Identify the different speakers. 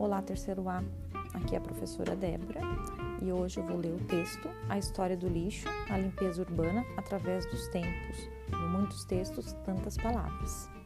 Speaker 1: Olá, terceiro A, aqui é a professora Débora e hoje eu vou ler o texto A História do Lixo, a Limpeza Urbana através dos tempos. Em muitos textos, tantas palavras.